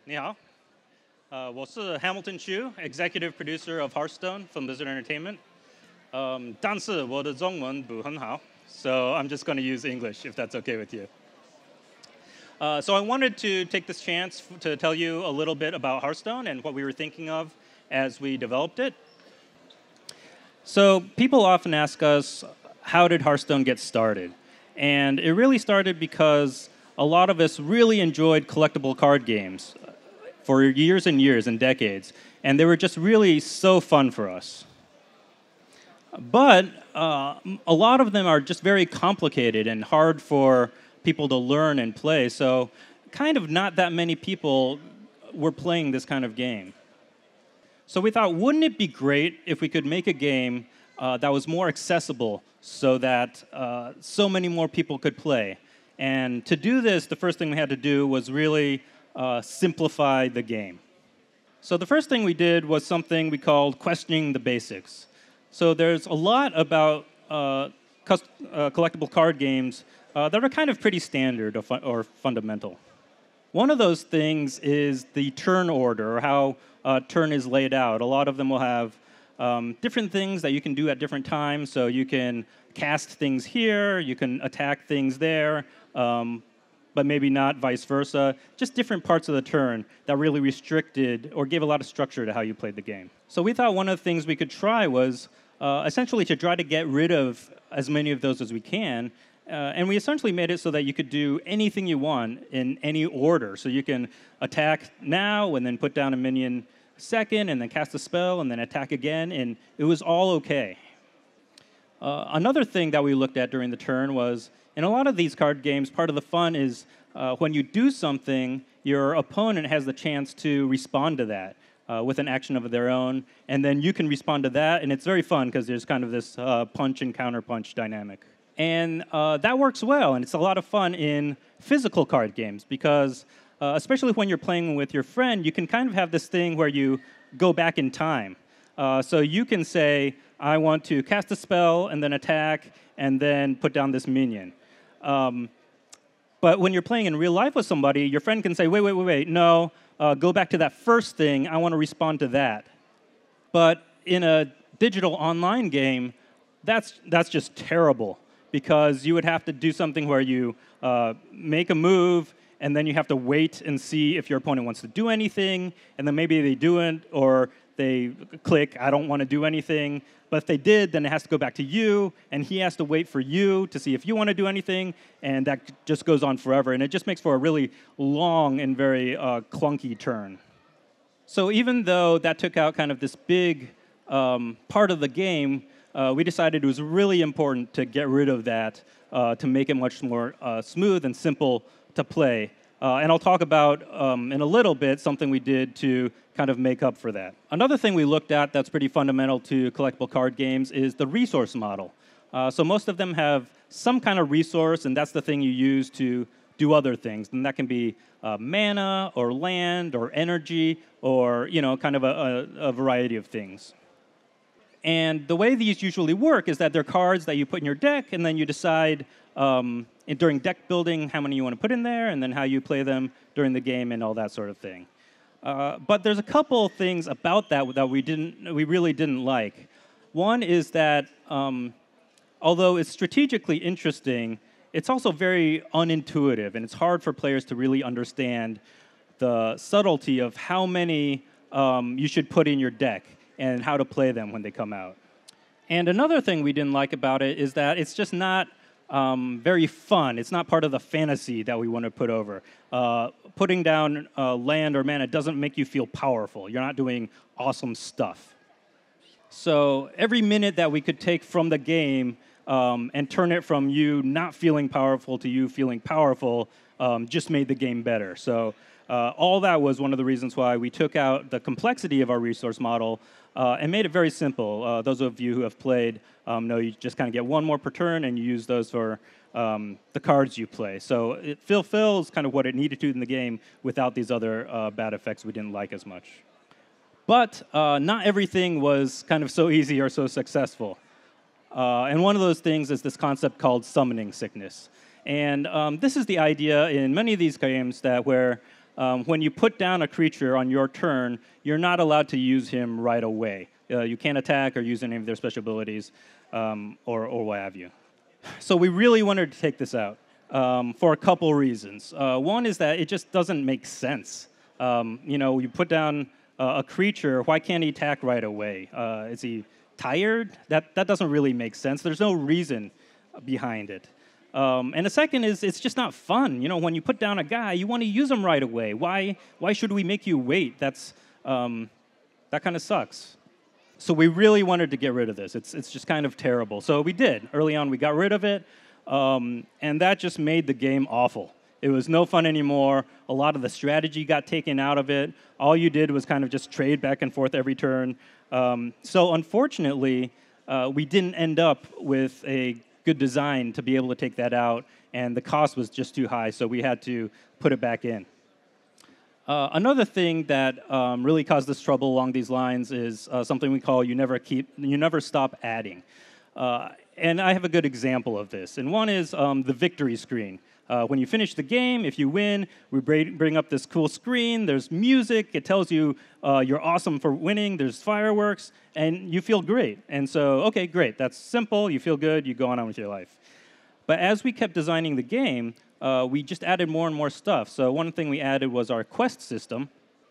你好，我是 Hamilton Chu, Executive Producer of Hearthstone from Blizzard Entertainment. 但是我的中文不很好, so I'm just going to use English if that's okay with you. So I wanted to take this chance to tell you a little bit about Hearthstone and what we were thinking of as we developed it. So people often ask us, how did Hearthstone get started? And it really started because a lot of us really enjoyed collectible card games for years and years and decades, and they were just really so fun for us. But a lot of them are just very complicated and hard for people to learn and play, so kind of not that many people were playing this kind of game. So we thought, wouldn't it be great if we could make a game that was more accessible so that so many more people could play? And to do this, the first thing we had to do was really simplify the game. So the first thing we did was something we called questioning the basics. So there's a lot about collectible card games that are kind of pretty standard or fundamental. One of those things is the turn order, or how a turn is laid out. A lot of them will have different things that you can do at different times. So you can cast things here, you can attack things there, but maybe not vice versa. Just different parts of the turn that really restricted or gave a lot of structure to how you played the game. So we thought one of the things we could try was essentially to try to get rid of as many of those as we can. And we essentially made it so that you could do anything you want in any order. So you can attack now and then put down a minion second and then cast a spell and then attack again, and it was all okay. Another thing that we looked at during the turn was, in a lot of these card games, part of the fun is when you do something, your opponent has the chance to respond to that with an action of their own, and then you can respond to that, and it's very fun because there's kind of this punch and counterpunch dynamic. And that works well, and it's a lot of fun in physical card games because especially when you're playing with your friend, you can kind of have this thing where you go back in time. So you can say, I want to cast a spell and then attack and then put down this minion. But when you're playing in real life with somebody, your friend can say, wait, no, go back to that first thing. I want to respond to that. But in a digital online game, that's just terrible because you would have to do something where you make a move, and then you have to wait and see if your opponent wants to do anything, and then maybe they do it, or they click, I don't want to do anything. But if they did, then it has to go back to you, and he has to wait for you to see if you want to do anything, and that just goes on forever. And it just makes for a really long and very clunky turn. So even though that took out kind of this big part of the game, we decided it was really important to get rid of that to make it much more smooth and simple to play. And I'll talk about in a little bit something we did to kind of make up for that. Another thing we looked at that's pretty fundamental to collectible card games is the resource model. So most of them have some kind of resource, and that's the thing you use to do other things. And that can be mana or land or energy or kind of a variety of things. And the way these usually work is that they're cards that you put in your deck, and then you decide during deck building how many you want to put in there, and then how you play them during the game and all that sort of thing. But there's a couple things about that we really didn't like. One is that although it's strategically interesting, it's also very unintuitive, and it's hard for players to really understand the subtlety of how many you should put in your deck and how to play them when they come out. And another thing we didn't like about it is that it's just not very fun. It's not part of the fantasy that we want to put over. Putting down land or mana doesn't make you feel powerful. You're not doing awesome stuff. So every minute that we could take from the game and turn it from you not feeling powerful to you feeling powerful just made the game better. So all that was one of the reasons why we took out the complexity of our resource model and made it very simple. Those of you who have played know you just kind of get one more per turn, and you use those for the cards you play. So it fulfills kind of what it needed to in the game without these other bad effects we didn't like as much. But not everything was kind of so easy or so successful. And one of those things is this concept called summoning sickness. And this is the idea in many of these games that where when you put down a creature on your turn, you're not allowed to use him right away. You can't attack or use any of their special abilities or what have you. So we really wanted to take this out for a couple reasons. One is that it just doesn't make sense. You put down a creature, why can't he attack right away? Is he tired? That doesn't really make sense. There's no reason behind it. And the second is it's just not fun. When you put down a guy, you want to use him right away. Why should we make you wait? That kind of sucks. So we really wanted to get rid of this. It's just kind of terrible. So we did. Early on, we got rid of it, and that just made the game awful. It was no fun anymore. A lot of the strategy got taken out of it. All you did was kind of just trade back and forth every turn. So unfortunately, we didn't end up with a good design to be able to take that out, and the cost was just too high, so we had to put it back in. Another thing that really caused us trouble along these lines is something we call you never stop adding. And I have a good example of this. And one is the victory screen. When you finish the game, if you win, we bring up this cool screen. There's music. It tells you you're awesome for winning. There's fireworks, and you feel great. And so, okay, great. That's simple. You feel good. You go on with your life. But as we kept designing the game, we just added more and more stuff. So one thing we added was our quest system.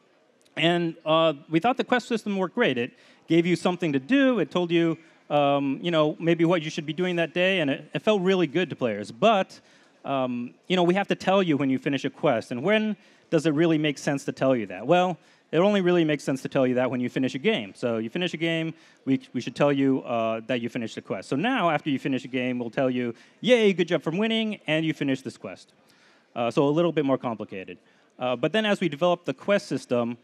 And we thought the quest system worked great. It gave you something to do. It told you, maybe what you should be doing that day. And it felt really good to players. But, we have to tell you when you finish a quest. And when does it really make sense to tell you that? Well, it only really makes sense to tell you that when you finish a game. So you finish a game, we should tell you that you finished the quest. So now, after you finish a game, we'll tell you, yay, good job for winning, and you finished this quest. So a little bit more complicated. But then as we developed the quest system,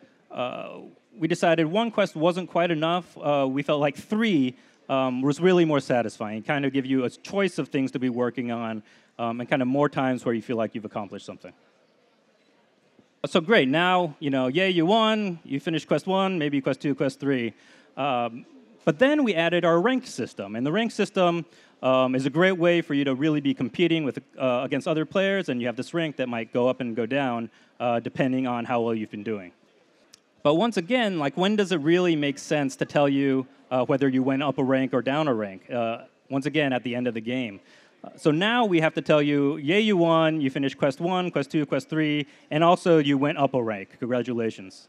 we decided one quest wasn't quite enough. We felt like 3 was really more satisfying. Kind of give you a choice of things to be working on, and kind of more times where you feel like you've accomplished something. So great, now, yay, you won, you finished quest 1, maybe quest 2, quest 3. But then we added our rank system. And the rank system is a great way for you to really be competing against other players, and you have this rank that might go up and go down depending on how well you've been doing. But once again, when does it really make sense to tell you whether you went up a rank or down a rank? Once again, at the end of the game. So now we have to tell you, yay, you won, you finished quest 1, quest 2, quest 3, and also you went up a rank. Congratulations.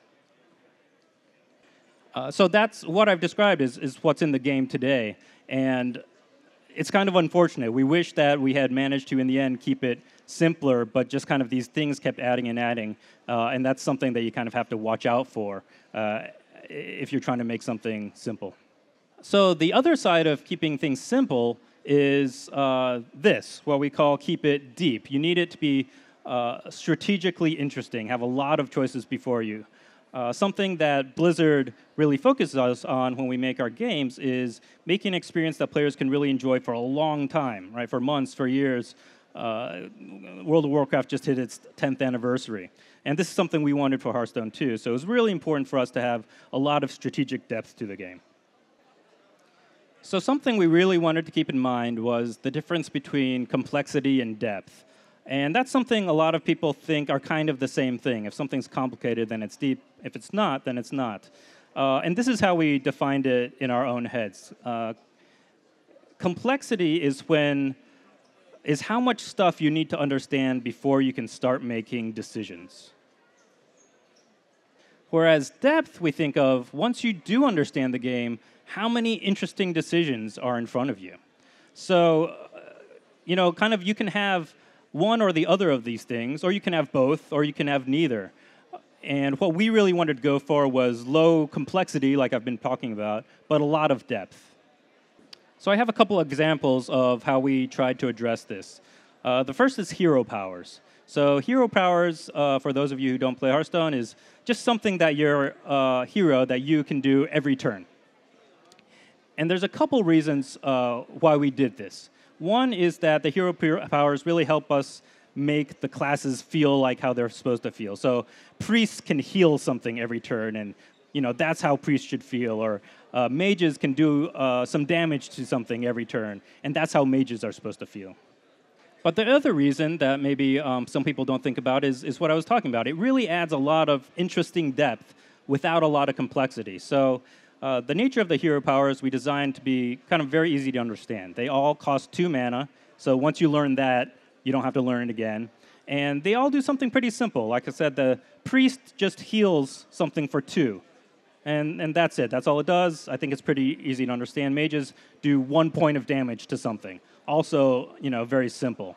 So that's what I've described is what's in the game today. And it's kind of unfortunate. We wish that we had managed to, in the end, keep it simpler, but just kind of these things kept adding and adding. And that's something that you kind of have to watch out for if you're trying to make something simple. So the other side of keeping things simple is what we call keep it deep. You need it to be strategically interesting, have a lot of choices before you. Something that Blizzard really focuses on when we make our games is making an experience that players can really enjoy for a long time, right? For months, for years. World of Warcraft just hit its 10th anniversary. And this is something we wanted for Hearthstone too. So it was really important for us to have a lot of strategic depth to the game. So something we really wanted to keep in mind was the difference between complexity and depth. And that's something a lot of people think are kind of the same thing. If something's complicated, then it's deep. If it's not, then it's not. And this is how we defined it in our own heads. Complexity is how much stuff you need to understand before you can start making decisions. Whereas depth, we think of, once you do understand the game, how many interesting decisions are in front of you. So, kind of you can have one or the other of these things, or you can have both, or you can have neither. And what we really wanted to go for was low complexity, like I've been talking about, but a lot of depth. So I have a couple of examples of how we tried to address this. The first is hero powers. So hero powers, for those of you who don't play Hearthstone, is just something that your hero that you can do every turn. And there's a couple reasons why we did this. One is that the hero powers really help us make the classes feel like how they're supposed to feel. So priests can heal something every turn, and that's how priests should feel. Or mages can do some damage to something every turn, and that's how mages are supposed to feel. But the other reason that maybe some people don't think about is what I was talking about. It really adds a lot of interesting depth without a lot of complexity. So the nature of the hero powers we designed to be kind of very easy to understand. They all cost 2 mana, so once you learn that, you don't have to learn it again. And they all do something pretty simple. Like I said, the priest just heals something for 2. And that's it. That's all it does. I think it's pretty easy to understand. Mages do 1 point of damage to something. Also, very simple.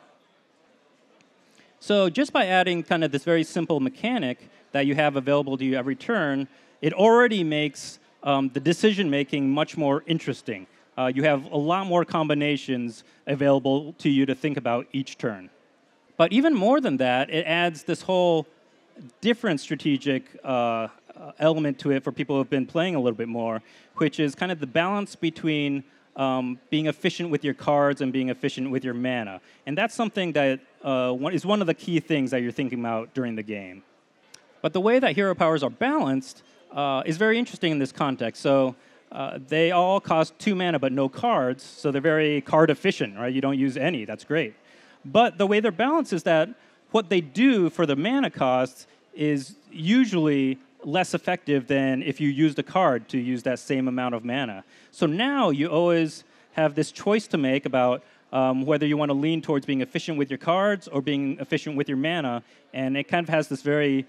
So just by adding kind of this very simple mechanic that you have available to you every turn, it already makes the decision-making much more interesting. You have a lot more combinations available to you to think about each turn. But even more than that, it adds this whole different strategic element to it for people who have been playing a little bit more, which is kind of the balance between being efficient with your cards and being efficient with your mana. And that's something that is one of the key things that you're thinking about during the game. But the way that hero powers are balanced is very interesting in this context. So they all cost 2 mana but no cards, so they're very card efficient, right? You don't use any, that's great. But the way they're balanced is that what they do for the mana costs is usually less effective than if you used a card to use that same amount of mana. So now you always have this choice to make about whether you want to lean towards being efficient with your cards or being efficient with your mana, and it kind of has this very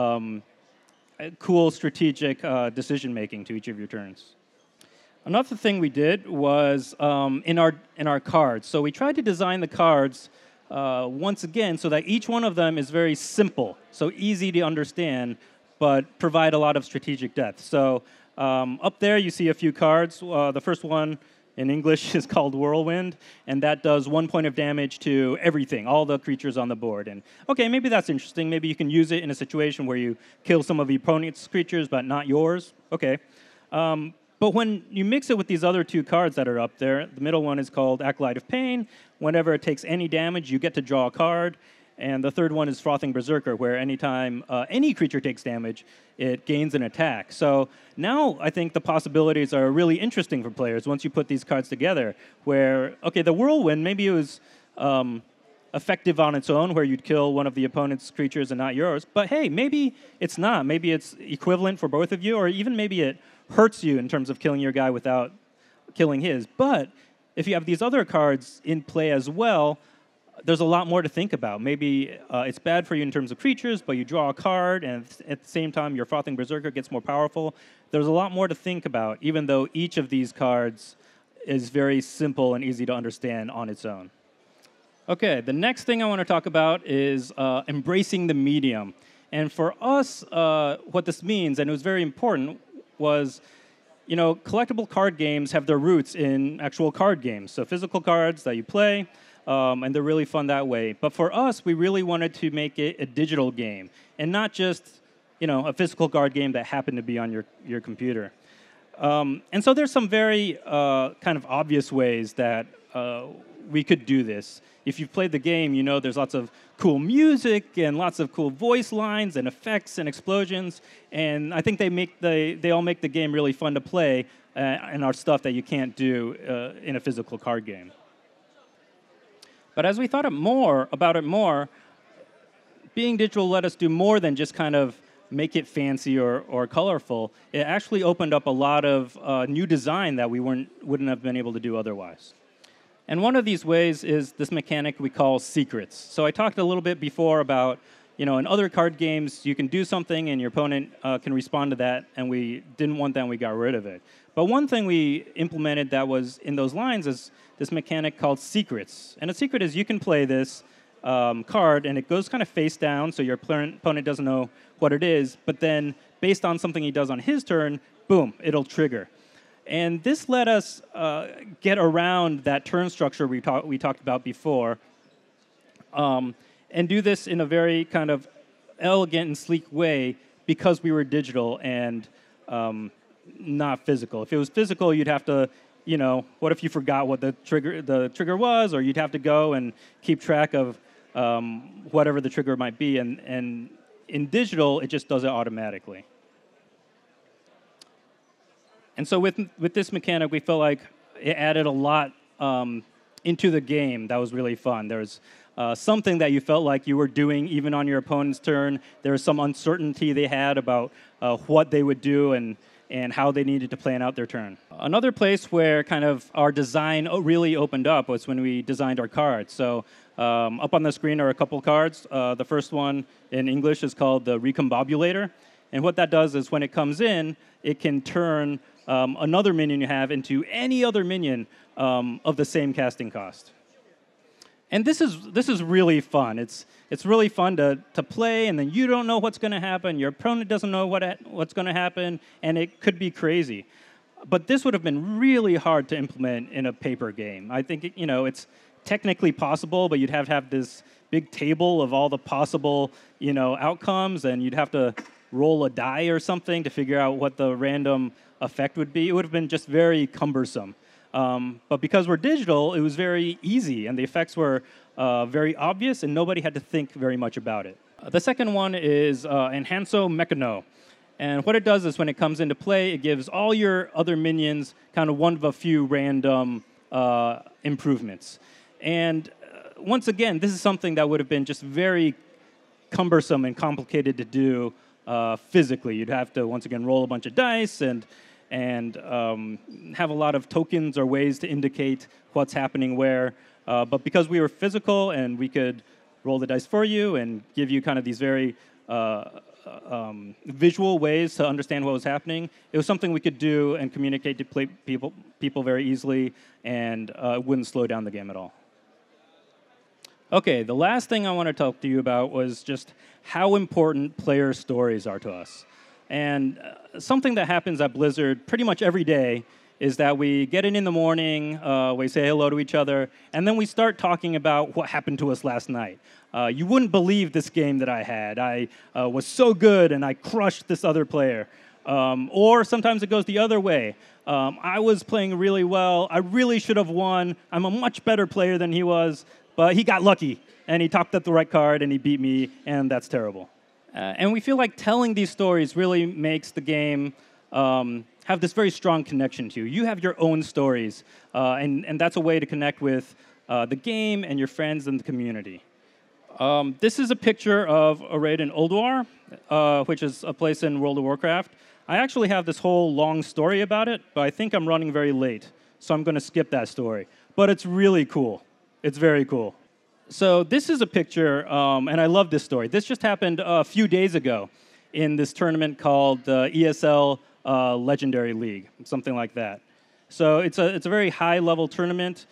cool strategic decision-making to each of your turns. Another thing we did was in our cards. So we tried to design the cards once again so that each one of them is very simple, so easy to understand, but provide a lot of strategic depth. So up there you see a few cards. The first one in English is called Whirlwind, and that does 1 point of damage to everything, all the creatures on the board. And okay, maybe that's interesting. Maybe you can use it in a situation where you kill some of the opponent's creatures, but not yours. Okay. But when you mix it with these other 2 cards that are up there, the middle one is called Acolyte of Pain. Whenever it takes any damage, you get to draw a card. And the third one is Frothing Berserker, where anytime any creature takes damage, it gains an attack. So now I think the possibilities are really interesting for players once you put these cards together, where, okay, the Whirlwind, maybe it was effective on its own, where you'd kill one of the opponent's creatures and not yours. But hey, maybe it's not. Maybe it's equivalent for both of you, or even maybe it hurts you in terms of killing your guy without killing his. But if you have these other cards in play as well, there's a lot more to think about. Maybe it's bad for you in terms of creatures, but you draw a card, and at the same time, your Frothing Berserker gets more powerful. There's a lot more to think about, even though each of these cards is very simple and easy to understand on its own. Okay, the next thing I want to talk about is embracing the medium. And for us, what this means, and it was very important, was collectible card games have their roots in actual card games. So physical cards that you play, and they're really fun that way. But for us, we really wanted to make it a digital game, and not just a physical card game that happened to be on your computer. And so there's some very kind of obvious ways that we could do this. If you've played the game, there's lots of cool music and lots of cool voice lines and effects and explosions. And I think they all make the game really fun to play and are stuff that you can't do in a physical card game. But as we thought about it more, being digital let us do more than just kind of make it fancy or colorful. It actually opened up a lot of new design that we wouldn't have been able to do otherwise. And one of these ways is this mechanic we call secrets. So I talked a little bit before about, in other card games, you can do something and your opponent can respond to that, and we didn't want that and we got rid of it. But one thing we implemented that was in those lines is this mechanic called secrets. And a secret is you can play this card, and it goes kind of face down, so your opponent doesn't know what it is, but then based on something he does on his turn, boom, it'll trigger. And this let us get around that turn structure we talked about before, and do this in a very kind of elegant and sleek way because we were digital and not physical. If it was physical, you'd have to, what if you forgot what the trigger was, or you'd have to go and keep track of whatever the trigger might be, and in digital, it just does it automatically. And so with this mechanic, we felt like it added a lot into the game that was really fun. There was something that you felt like you were doing even on your opponent's turn. There was some uncertainty they had about what they would do and how they needed to plan out their turn. Another place where kind of our design really opened up was when we designed our cards. So up on the screen are a couple cards. The first one in English is called the Recombobulator. And what that does is when it comes in, it can turn another minion you have into any other minion of the same casting cost. And this is really fun. It's really fun to play, and then you don't know what's going to happen. Your opponent doesn't know what's going to happen, and it could be crazy. But this would have been really hard to implement in a paper game. I think it's technically possible, but you'd have to have this big table of all the possible outcomes, and you'd have to roll a die or something to figure out what the random effect would be. It would have been just very cumbersome. But because we're digital, it was very easy, and the effects were very obvious, and nobody had to think very much about it. The second one is Enhanso Mechano. And what it does is when it comes into play, it gives all your other minions kind of one of a few random improvements. And once again, this is something that would have been just very cumbersome and complicated to do physically. You'd have to, once again, roll a bunch of dice and have a lot of tokens or ways to indicate what's happening where. But because we were physical and we could roll the dice for you and give you kind of these very visual ways to understand what was happening, it was something we could do and communicate to people very easily, and it wouldn't slow down the game at all. Okay, the last thing I want to talk to you about was just how important player stories are to us. And something that happens at Blizzard pretty much every day is that we get in the morning, we say hello to each other, and then we start talking about what happened to us last night. You wouldn't believe this game that I had. I was so good, and I crushed this other player. Or sometimes it goes the other way. I was playing really well. I really should have won. I'm a much better player than he was, but he got lucky, and he topped up the right card, and he beat me, and that's terrible. And we feel like telling these stories really makes the game have this very strong connection to you. You have your own stories, and that's a way to connect with the game and your friends and the community. This is a picture of a raid in Ulduar, which is a place in World of Warcraft. I actually have this whole long story about it, but I think I'm running very late, so I'm going to skip that story. But it's really cool. It's very cool. So this is a picture, and I love this story. This just happened a few days ago in this tournament called the ESL Legendary League, something like that. So it's a very high-level tournament.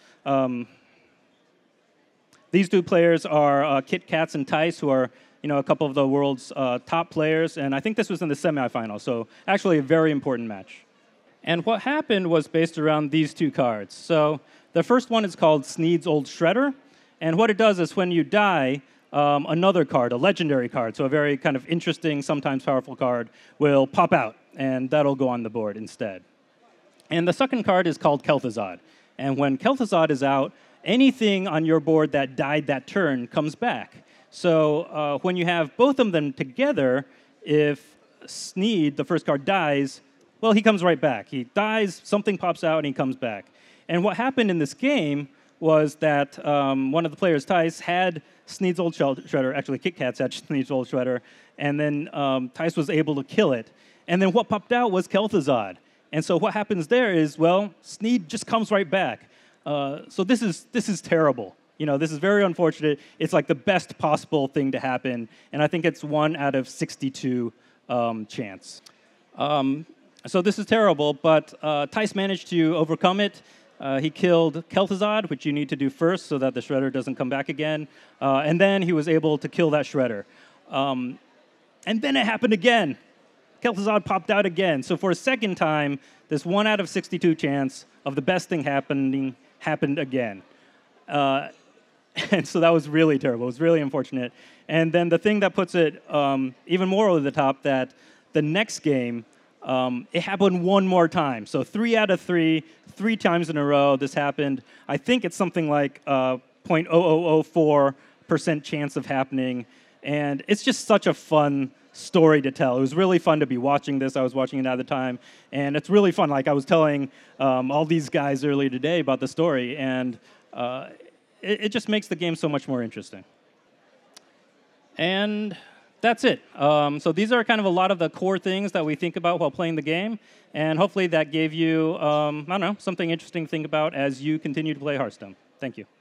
These two players are Kit Kats and Tice, who are a couple of the world's top players, and I think this was in the semifinals, so actually a very important match. And what happened was based around these two cards. So the first one is called Sneed's Old Shredder. And what it does is when you die, another card, a legendary card, so a very kind of interesting, sometimes powerful card, will pop out, and that'll go on the board instead. And the second card is called Kel'Thuzad. And when Kel'Thuzad is out, anything on your board that died that turn comes back. So when you have both of them together, if Sneed, the first card, dies, well, he comes right back. He dies, something pops out, and he comes back. And what happened in this game was that one of the players, Tice, had Sneed's Old Shredder, actually Kit Kats had Sneed's Old Shredder, and then Tice was able to kill it. And then what popped out was Kel'Thuzad. And so what happens there is, well, Sneed just comes right back. So this is terrible. This is very unfortunate. It's like the best possible thing to happen, and I think it's 1 out of 62 chance. So this is terrible, but Tice managed to overcome it. He killed Kel'Thuzad, which you need to do first so that the Shredder doesn't come back again. And then he was able to kill that Shredder. And then it happened again. Kel'Thuzad popped out again. So for a second time, this 1 out of 62 chance of the best thing happened again. And so that was really terrible. It was really unfortunate. And then the thing that puts it even more over the top, that the next game, it happened one more time. So 3 out of 3 times in a row, this happened. I think it's something like 0.0004% chance of happening. And it's just such a fun story to tell. It was really fun to be watching this. I was watching it at the time. And it's really fun. Like I was telling all these guys earlier today about the story. And It just makes the game so much more interesting. And that's it. So these are kind of a lot of the core things that we think about while playing the game. And hopefully that gave you, I don't know, something interesting to think about as you continue to play Hearthstone. Thank you.